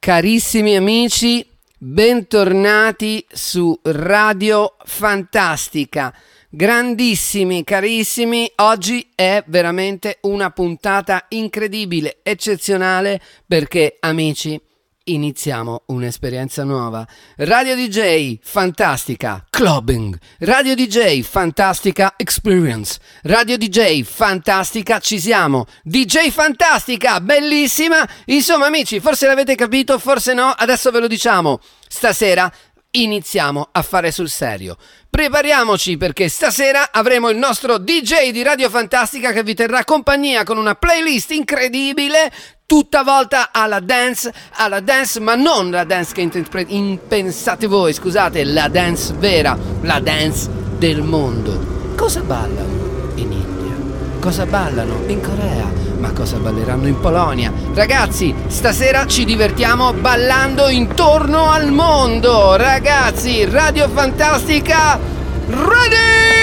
Carissimi amici, bentornati su Radio Fantastica. Grandissimi, carissimi, oggi è veramente una puntata incredibile, eccezionale, perché, amici, iniziamo un'esperienza nuova. Radio DJ Fantastica Clubbing, Radio DJ Fantastica Experience, Radio DJ Fantastica, ci siamo, DJ Fantastica, bellissima. Insomma, amici, forse l'avete capito, forse no, adesso ve lo diciamo. Stasera iniziamo a fare sul serio. Prepariamoci, perché stasera avremo il nostro DJ di Radio Fantastica che vi terrà compagnia con una playlist incredibile, tutta volta alla dance, ma non la dance che impensate voi, scusate, la dance vera, la dance del mondo. Cosa ballano in India? Cosa ballano in Corea? Ma cosa balleranno in Polonia? Ragazzi, stasera ci divertiamo ballando intorno al mondo. Ragazzi, Radio Fantastica, ready!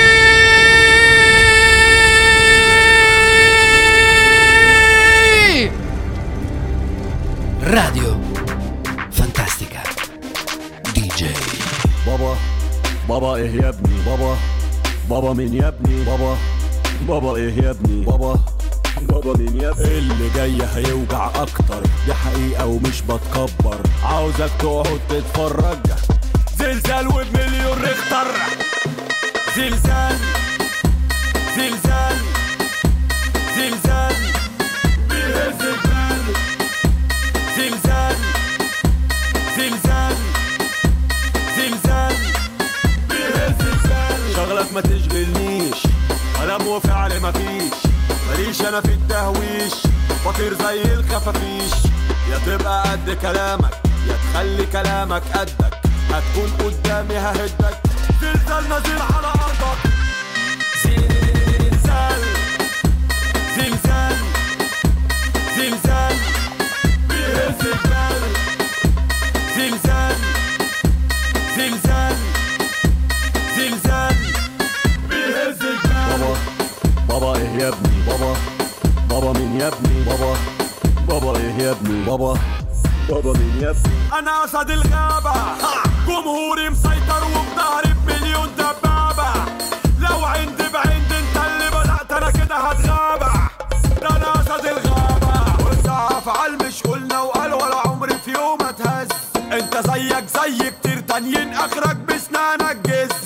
Radio Fantastica DJ. بابا ايه يا ابني بابا مين يا ابني بابا ايه يا ابني بابا مين يا ابني اللي جاي هيوجع اكتر، دي حقيقة ومش بتكبر، عاوزك تقعد تتفرج. زلزال وبمليون ريختر، زلزال زلزال زلزال بيهز الجبال، زلزال زلزال زلزال بيهز الجبال. شغلك ما تشغلنيش، كلام وفعل مفيش، ماليش انا في التهويش، بطير زي الخفافيش. يا تبقى قد كلامك يا تخلي كلامك قدك، هتكون قدامي ههدك. زلزال نازل على ارضك، زلزال زلزال زلزال بيهز الجبال، زلزال زلزال زلزال بيهز الجبال. بابا ايه يا ابني بابا مين يا ابني بابا ايه يا ابني بابا مين يا ابني. انا اسد الغابة، جمهوري مسيطر وبظهري بمليون دبابة. لو عندي بعند انت اللي بدأت انا كده هتغابة. ده انا اسد الغابة، وانت افعال مش قلنا وقال ولا عمري في يوم اتهز. انت زيك زي كتير تانيين اخرك بسنانك جز.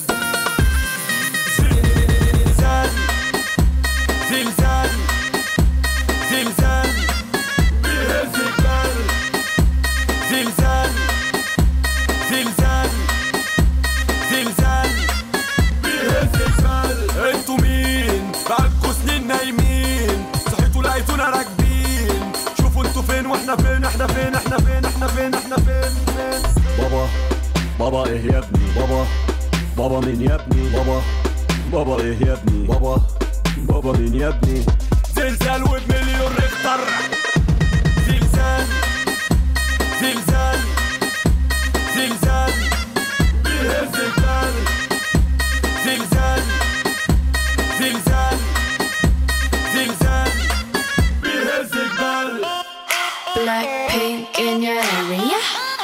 زلزال زلزال زلزال بيهز الجبال، زلزال زلزال زلزال بيهز الجبال. انتوا مين؟ بقالكوا سنين نايمين، صحيتوا لقيتونا راكبين. شوفوا انتوا فين واحنا فين، احنا فين احنا فين احنا فين احنا فين فين. بابا ايه يا ابني بابا مين يا ابني بابا ايه يا ابني بابا مين يا ابني. زلزال وبمليون ريختر، زلزال زلزال زلزال بيهز الجبال، زلزال زلزال زلزال بيهز الجبال. Blackpink in your area,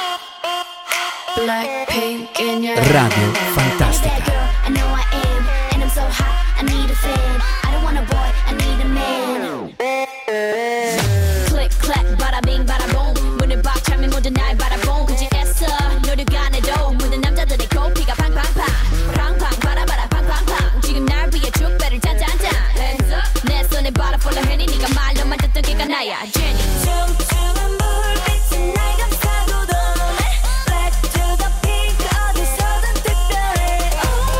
Blackpink in your Radio Fantastica. I know I am, and I'm so hot, I need a fan. I don't want a boy, I need a man. Click, clack, bada bing, bada boom. 문을 박 차면 모두 날 바라본 그지 애써 노력 안 해도 모든 남자들의 코피가 팡팡팡 팡팡 바라바라 팡팡팡. 지금 날 위해 축배를 짠짠짠. Hands up. 내 손에 바라 폴라 해니 네가 말로만 듣던 걔가 나야 제니. 춤추는 불빛이 날 감싸고 도네. Black to the pink 어디서든 특별해.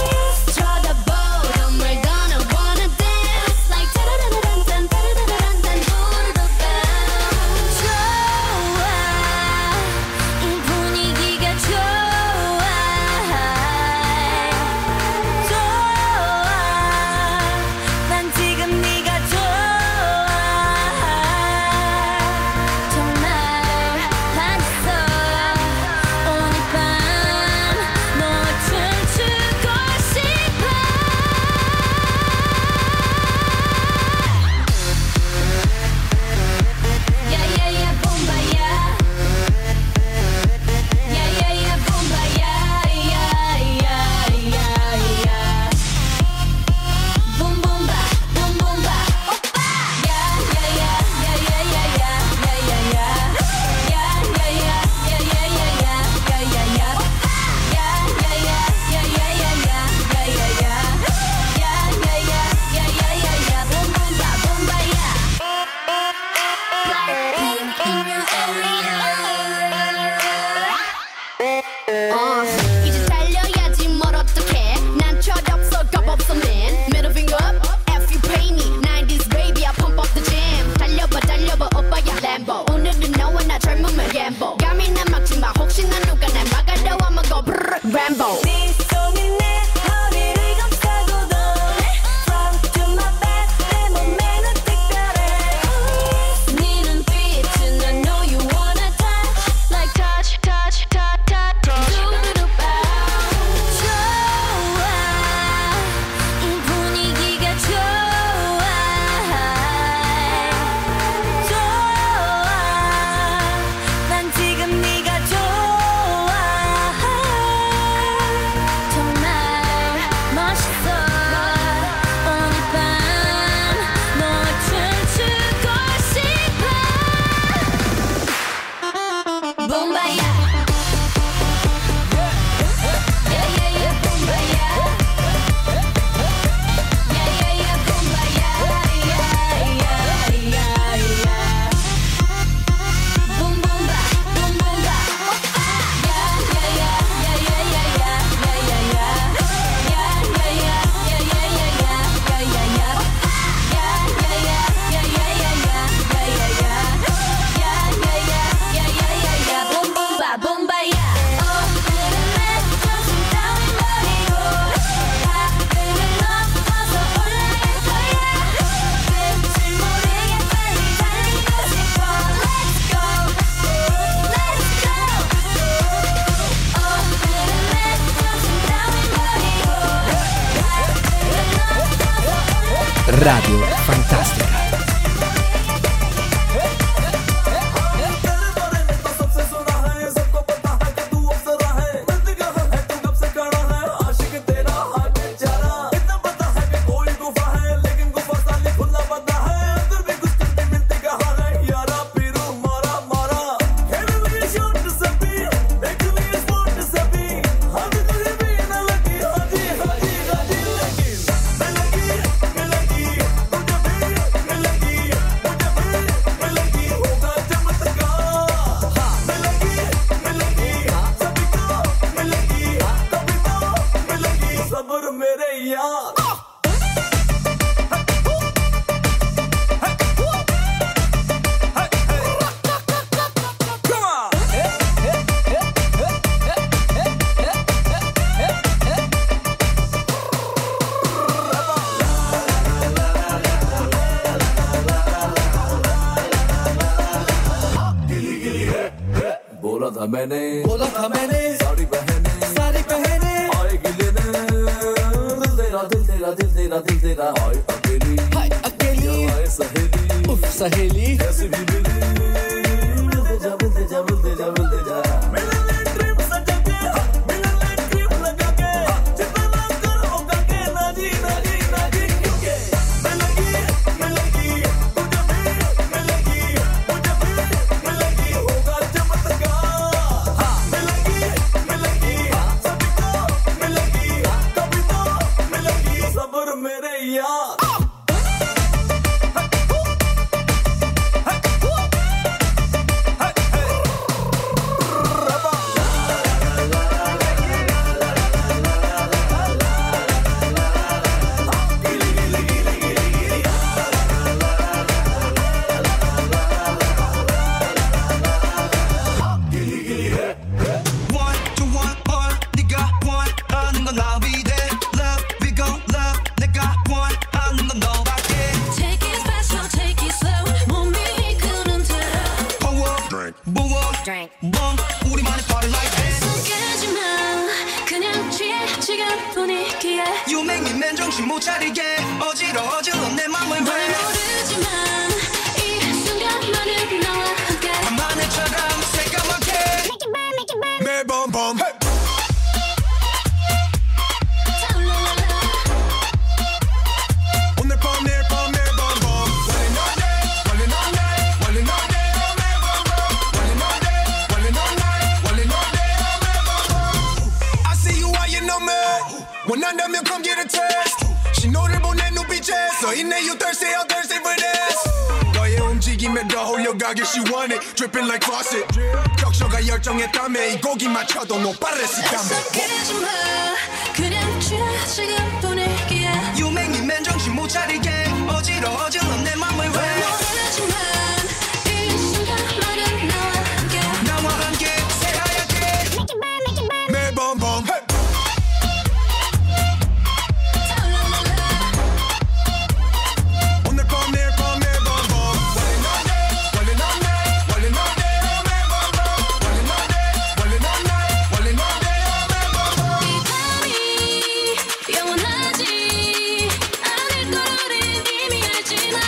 Radio Fantastica. बोला था मैंने सारी बहने आएगी लेने दिल तेरा हाय अकेली हाय सहेली उफ सहेली कैसे भी मिले मिलते जा मिलने ट्रिप सजा के मिलने ट्रिप लगा के जितना कर होगा के ना जी क्योंकि मिलेगी तुझे भी मिलेगी होगा चमत्कार मिलेगी सभी को मिलेगी कभी तो मिलेगी सब्र मेरे यार 정신 못 차리게 어지러워 내 맘을 왜 모르지만 이 순간만은 나와 함께 밤하늘처럼 새까맣게 매번 밤 오늘 밤 내일 밤 매번 밤 원래 넌데 매번 밤 원래 넌데 매번 밤 I see you while you know me 원한다면 come get a taste 신호를 보내 눈빛에서 있네 you thirsty for this 너의 움직임에 더 홀려가길 she want it dripping like faucet 격셔가 열정에 땀에 이 고기 맞춰도 no pares 약속해주마 그냥 취해 지금 분위기에 You make me man 정신 못 차리게 어지러워 내 맘을 왜 모르지만 이 순간만은 나와 함께 새하얗게 매번 밤 영원하지 않을 걸 우린 이미 알지만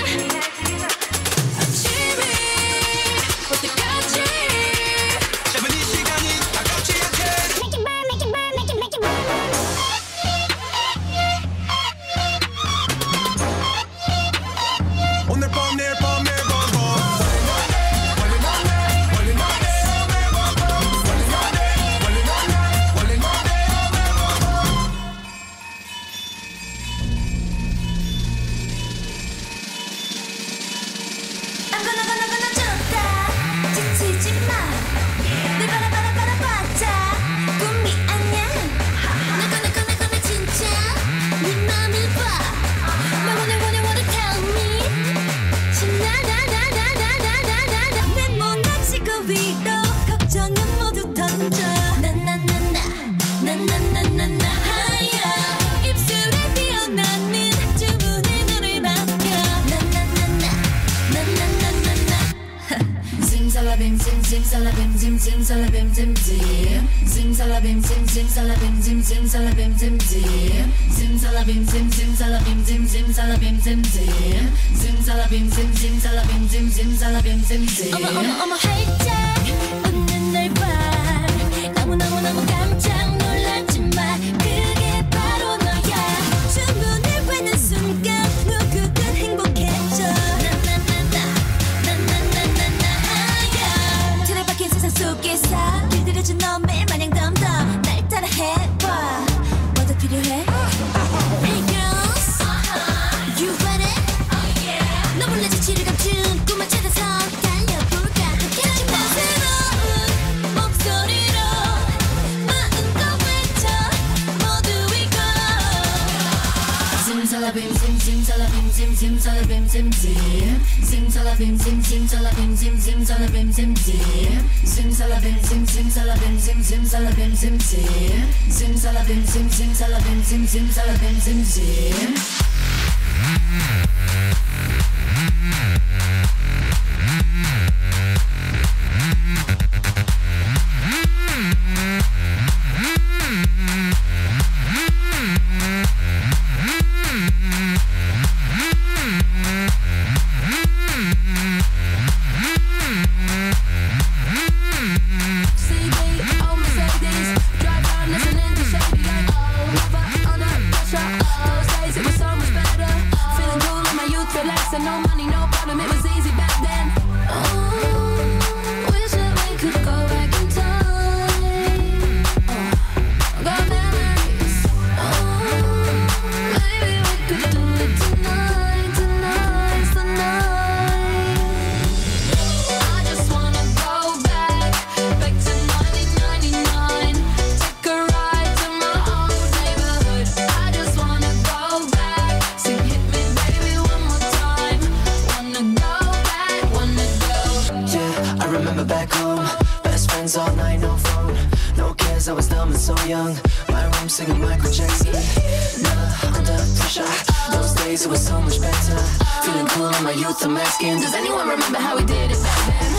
Zimsalabim, zim, zimsalabim, zim, zim. Zimsalabim, zim, zimsalabim, zim, zimsalabim, zim, zim. Zimsalabim, zim, zimsalabim, zim, zimsalabim, zim, zim. Zimsalabim, zim, zimsalabim, zim, zimsalabim, zim, zim. 어머 활짝 웃는 널 봐. 너무 깜짝 놀랐지만 그게 바로 너야. 주문을 외는 순간 누구든 행복해져. 나나나나나나나야. 틀에 박힌 세상 속에서 길들여진 너 매일 마냥 덤덤 날 따라해봐. 뭐더 필요해? Hey girls, you ready? 너 몰래 지치를 감춘 꿈을 찾아서 달려볼까. 함께라면 새로운 목소리로 마음껏 외쳐 모두 이거. Zimsalabim, zim, zimsalabim, zim, zimsalabim, zim, zim. Zimsalabim, zim, zimsalabim, zim, zimsalabim, zim, zim. Zimsalabim, zim, zimsalabim, zim, zimsalabim, zim, zim. Zimsalabim, zim, zimsalabim, zim, zimsalabim, zim, zim. CD, oh Mercedes, drive down listening to Shady like oh, never under pressure. Those days it was so much better, feeling cool in my youth, relaxing, no money, no problem, it was easy back then. Oh, wish that we could go back in time. Oh, got memories. Oh, maybe we could do it tonight, tonight's the night. I just wanna go back to 1999. Take a ride to my old neighborhood. I just wanna go back. Sing hit me baby one more time. Wanna go back, wanna go. Yeah, I remember back home. Best friends all night, no phone, no cares. I was dumb and so young. My room singing Michael Jackson. Nah, under pressure. Those days it was so much better. Feeling cool in my youth, I'm asking, Does anyone remember how we did it back then?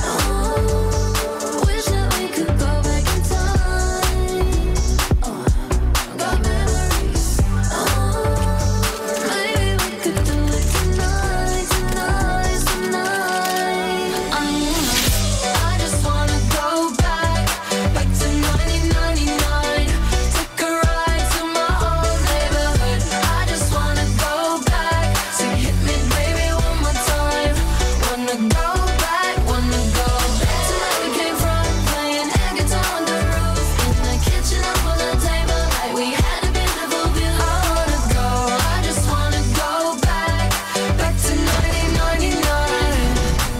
Oh, wish that we could go back in time. Oh, got memories. Oh, maybe we could do it tonight, tonight's the night. I just wanna go back to 1999. Take a ride to my old neighborhood. I just wanna go back. Sing hit me baby one more time. Wanna go back, wanna go back to where we came from, playing air guitar on the roof, in the kitchen up on the table, like we had a beautiful view. I wanna go, I just wanna go back to 1999.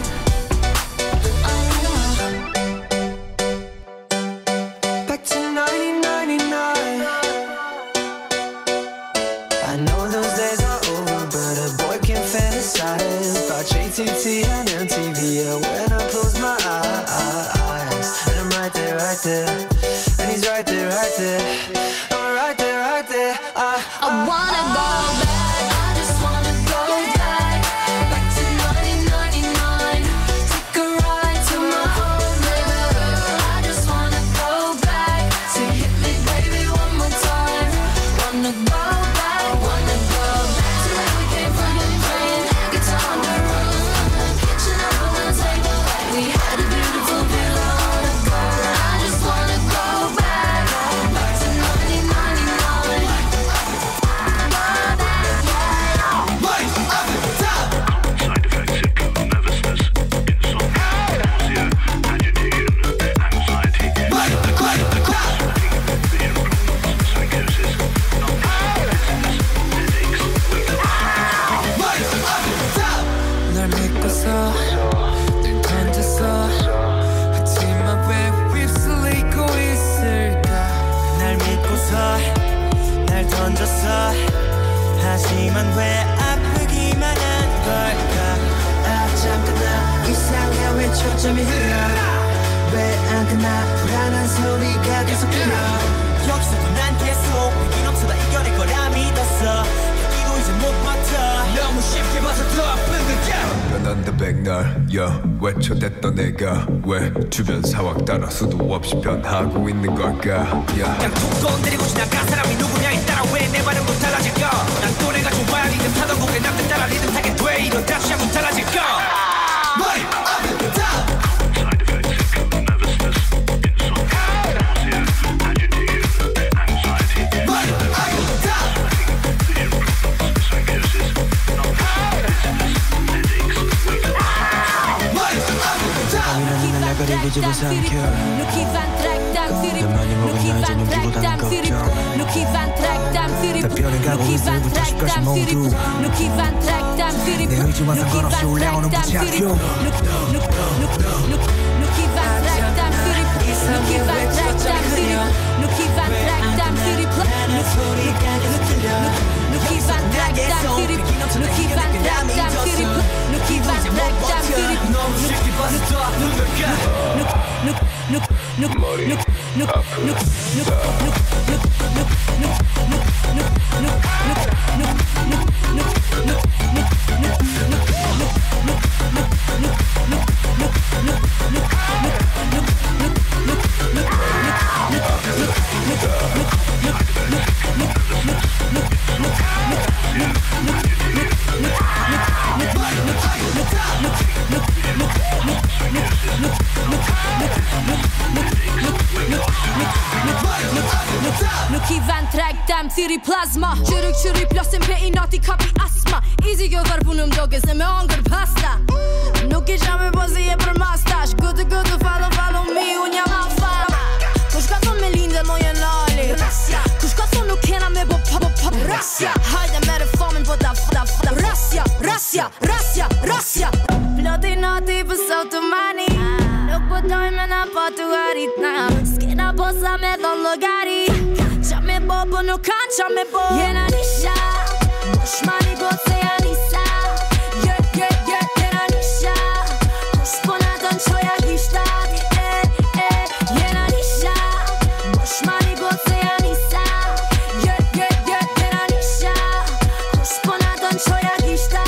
back to 1999. I know those days are over, but a boy can fantasize about JTT and MTV. Yeah, when I close my eyes, and I'm right there, and he's right there. I'm right there. I wanna go back. I just wanna go back to 1999. Take a ride to my old neighborhood. I just wanna go back. Say hit me baby one more time. Wanna go back, wanna go back to where we came from, playing air guitar on the roof, in the kitchen up on the table, like we had a beautiful view. I wanna go, I just wanna go back to 1999. Side effects include nervousness, insomnia, nausea, agitation, anxiety, vision problems, psychosis, 널 믿고서 늘 던졌어. 하지만 왜 휩쓸리고 있을까? 날 믿고서 날 던졌어. 하지만 왜 아프기만 한 걸까? 아 잠깐 나 이상해 왜 초점이 흐려? 왜 안 끝나? 불안한 소리가 계속 들려. 여기서도 난 계속 위기 넘쳐다 이겨낼 거라 믿었어. 이제 못 버텨. 너무 쉽게 봐서 더 아픈 거야. on the back 날 외쳐댔던 내가 왜 주변 상황 따라 수도 없이 변하고 있는 걸까 그냥 툭 건드리고 지나간 사람이 누구냐에 따라 왜 내 반응도 달라질까 난 또래가 좋아 리듬 타던 곡에 남들 따라 리듬 타게 돼 이런 다시 한번 달라질까 Right up at the top Side effects include nervousness, insomnia, nausea, agitation, anxiety, Right up at the top vision problems, psychosis, dizziness, headaches, weakness. Right up at the top 날 가리고 집어 삼켜 너만이 먹은 날 저녁 두고 다는 걱정 다 변해가고 있을부터 다시까지 모두 내 의지와 상관없이 올라오는 부착용 머리 아프다 Nuk i vend treg dem thiri plazma Qyryk qyri plosin pe i nati kapi asma Easy kjo varpu në mdoke se me angër pasta Nuk i qa me pozi e për mastash Gudu gudu follow me unë jam alfa Kush ka thon me linde moje nali Kush ka thon nuk kena me bo pop Rasja Hajde me reformin po ta Rasja Ploti nati pës automani Nuk po dojme na po të garit na S'kena posa me thon logari Qa me bo po nuk kan qa me bo Jena nisha Mosh mani go se ja nisa Jena nisha Kush po na ton qoja gishtat Jena nisha Mosh mani go se ja nisa Jena nisha Kush po na ton qoja gishtat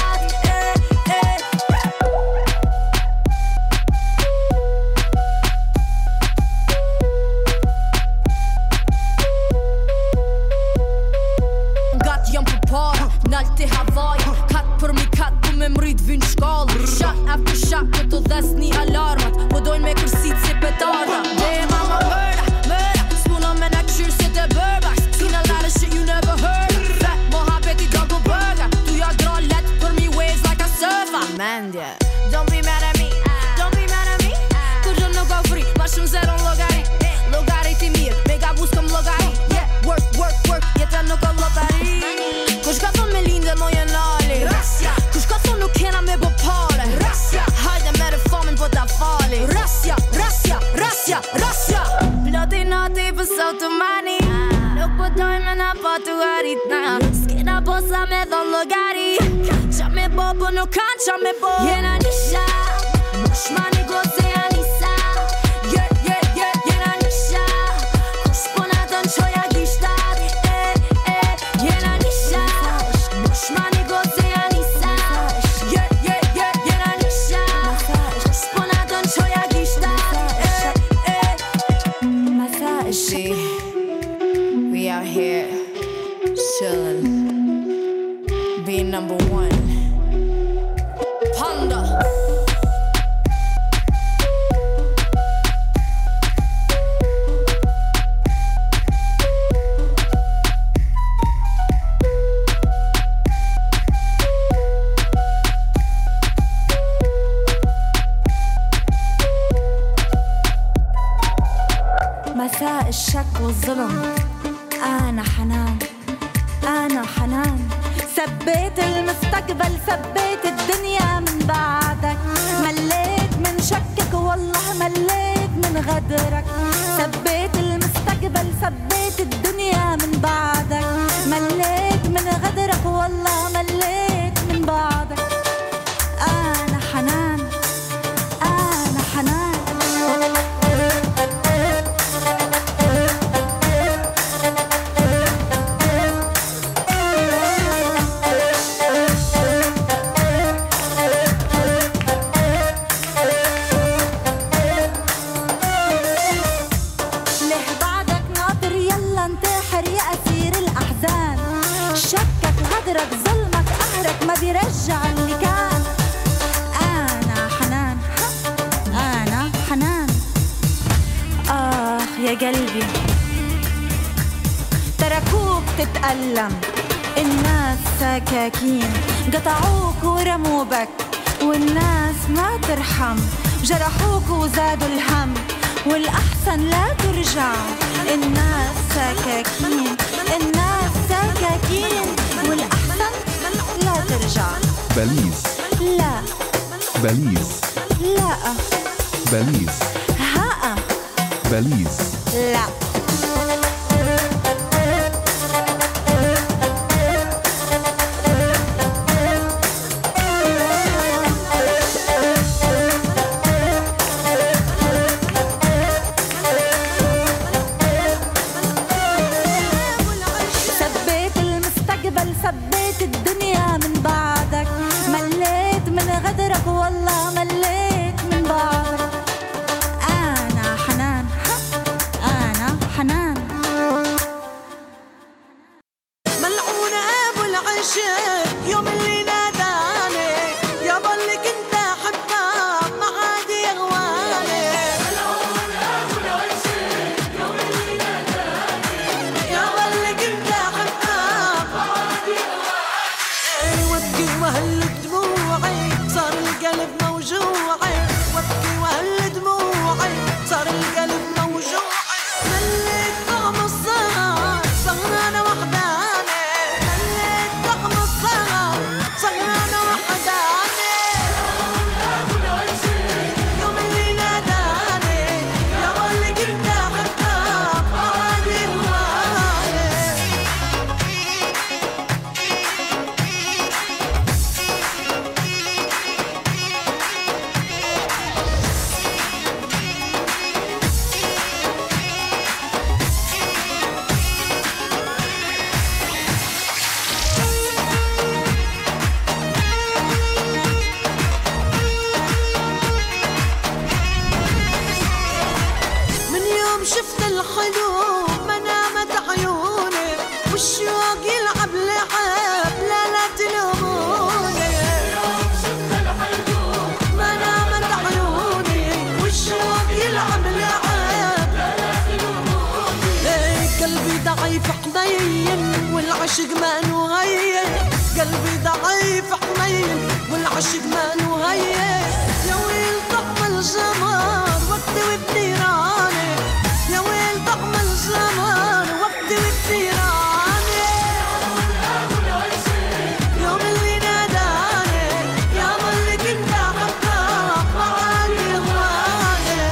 Nalti Havaj Kat për mi kat ku me mrit vin shkall Shak after shak këto dhes një alarmat Po dojnë me kërsit si petarda Damn I'm a murder S'puna me na këshyr si të bërbars Seen a lot of shit you never heard Fat mohabeti double burger Tu ja dra let për mi waves like a surfer Mendje Don't be mad at me Kur gjë nuk ka fri Ma shumë zero logari Logari ti mirë Me ga bus këm logari Yeah work Jeta nuk ka lotari Kush ka thon me linde moje nali Kush ka thon nuk kena me bo pare Hajde me reformin po ta fali Rasja Ploti nati pës automani Nuk po dojme na po të garit na S'kena posa me thon logari Qa me bo po nuk kan qa me bo Jena nisha Mosh mani go se ja nisa Jena nisha Kush po na ton qoja gishtat Jena nisha Mosh mani go se ja nisa Jena nisha Kush po na ton qoja gishtat See, we out here chillin', being number one. Panda. مساء الشك والظلم أنا حنان ثبيت المستقبل ثبيت الدنيا من بعدك مليت من شكك والله مليت من غدرك ثبيت المستقبل ثبيت الدنيا من بعدك مليت من غدرك والله مليت من بعدك أنا حنان يا قلبي تركوك تتألم، الناس سكاكين قطعوك ورموبك، والناس ما ترحم، جرحوك وزادوا الهم، والأحسن لا ترجع. الناس سكاكين، الناس سكاكين، والأحسن لا ترجع. بليز لا بليز لا بليز ها بليز لا. سبيت المستقبل، سبيت الدنيا من بعدك، مليت من غدرك والله مليت من بعدك. أنا حنان، أنا حنان. ملعون أبو العشق يوم اللي ناداني، يابا اللي كنت أحبها ما عاد يغواني. ملعون أبو العشق يوم اللي ناداني، يابا اللي كنت أحبها ما عاد يغواني. وابكي وهل دموعي صار القلب موجوعي، وابكي وهل دموعي صار القلب موجوعي. مليت طعم السهر سهرانة وحداني، مليت طعم السهر سهرانة وحداني. أبو العشق يوم اللي ناداني، يابا اللي كنت أحبها ما عاد يهواني. من يوم شفت الحلو ما نامت عيوني، والشوق يلعب لعب لا لا تلوموني. يوم شفت الحلو ما نامت عيوني، والشوق يلعب لعب لا لا تلوموني. قلبي ضعيف حنين والعشق ما نغير، قلبي ضعيف حنين والعشق ما نغير. يا ويل طعم الجمر وقتي وبنيراني، يا ويل طعم الجمر وقتي وبنيراني. يوم اللي ناداني، يابا اللي كنت أحبها ما عاد يهواني.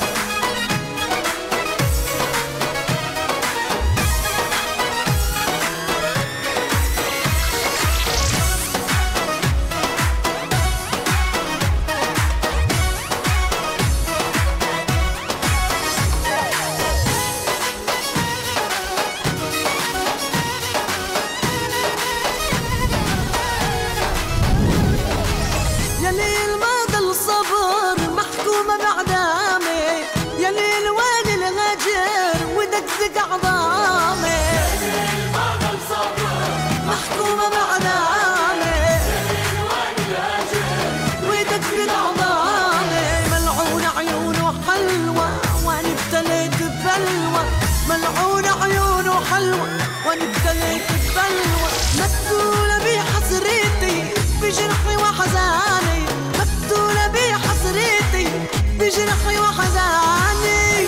يا ليل ما ضل صبر محكومة بعدامي، يا ليل وين الهجر ودقدق عظامي. يا ليل ما ضل صبر محكومة بعدامي، يا ليل وين الهجر ودقدق عظامي. ملعون عيونه حلوة وانا ابتليت ببلوى، ملعون عيونه حلوة وانا ابتليت ببلوى. مقتولة بحسرتي بجرحي وحزاني، مقتولة بحسرتي بجرحي وحزاني.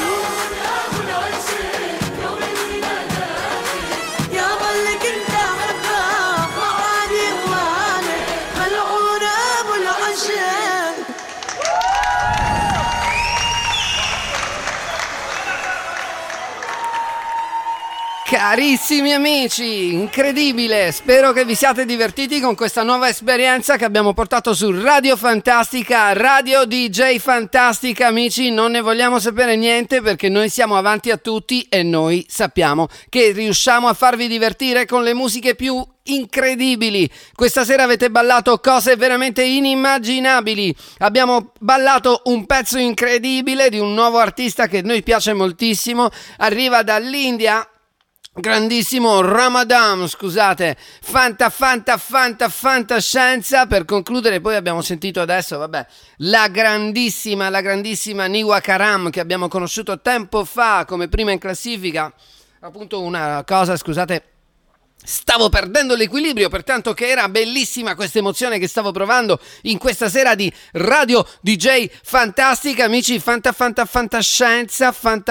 يابا اللي كنت أحبها ما عاد يهواني. ملعون أبو العشق. Carissimi amici, incredibile, spero che vi siate divertiti con questa nuova esperienza che abbiamo portato su Radio Fantastica, Radio DJ Fantastica. Amici, non ne vogliamo sapere niente perché noi siamo avanti a tutti e noi sappiamo che riusciamo a farvi divertire con le musiche più incredibili. Questa sera avete ballato cose veramente inimmaginabili. Abbiamo ballato un pezzo incredibile di un nuovo artista che a noi piace moltissimo, arriva dall'India. grandissimo Ramadan, scusate, fantascienza. Per concludere, poi abbiamo sentito adesso, vabbè, la grandissima Niwa Karam, che abbiamo conosciuto tempo fa come prima in classifica. Appunto una cosa, scusate, stavo perdendo l'equilibrio, pertanto che era bellissima questa emozione che stavo provando in questa sera di Radio DJ Fantastica, amici. Fantascienza,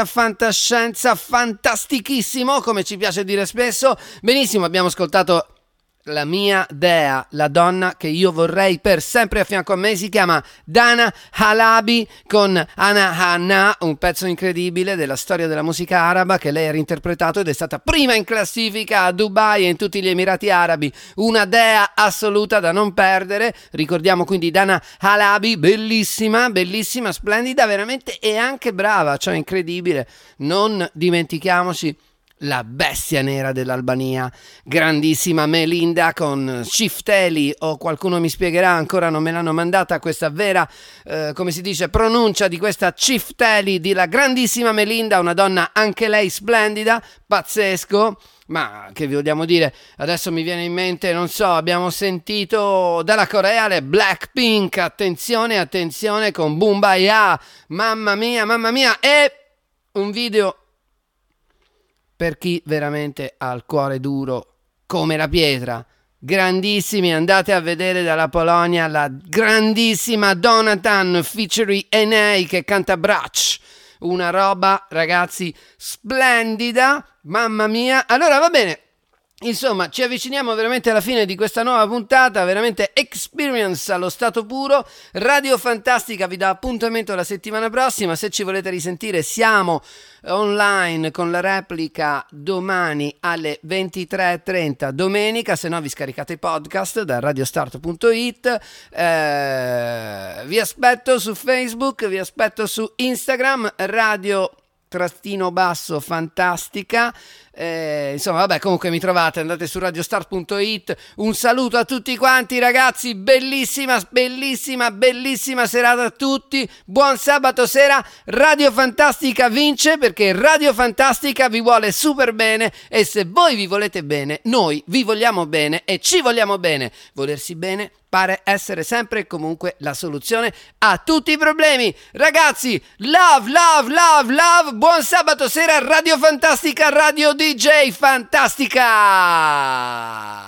fantastichissimo, come ci piace dire spesso. Benissimo, abbiamo ascoltato la mia dea, la donna che io vorrei per sempre a fianco a me. Si chiama Dana Halabi con Ana Hanna, un pezzo incredibile della storia della musica araba che lei ha reinterpretato ed è stata prima in classifica a Dubai e in tutti gli Emirati Arabi. Una dea assoluta da non perdere. Ricordiamo quindi Dana Halabi, bellissima, splendida veramente, e anche brava, cioè incredibile. Non dimentichiamoci la bestia nera dell'Albania, grandissima Melinda con Cifteli, o qualcuno mi spiegherà, ancora non me l'hanno mandata questa vera, come si dice, pronuncia di questa Cifteli, di la grandissima Melinda, una donna anche lei splendida, pazzesco. Ma che vi vogliamo dire? Adesso mi viene in mente, non so, abbiamo sentito dalla Corea le Blackpink, attenzione con Boombayah, mamma mia, e un video per chi veramente ha il cuore duro come la pietra. Grandissimi, andate a vedere dalla Polonia la grandissima Donatan featuring Enei che canta Braccio. Una roba, ragazzi, splendida, mamma mia. Allora va bene, insomma, ci avviciniamo veramente alla fine di questa nuova puntata, veramente experience allo stato puro. Radio Fantastica vi dà appuntamento la settimana prossima. Se ci volete risentire, siamo online con la replica domani alle 23:30 domenica, se no vi scaricate i podcast da radiostart.it. Vi aspetto su Facebook, vi aspetto su Instagram, radio_fantastica. Insomma vabbè, comunque mi trovate, andate su radiostart.it. Un saluto a tutti quanti, ragazzi, bellissima serata a tutti, buon sabato sera. Radio Fantastica vince perché Radio Fantastica vi vuole super bene, e se voi vi volete bene, noi vi vogliamo bene e ci vogliamo bene. Volersi bene pare essere sempre e comunque la soluzione a tutti i problemi. Ragazzi, love, buon sabato sera, Radio Fantastica, Radio DJ Fantastica.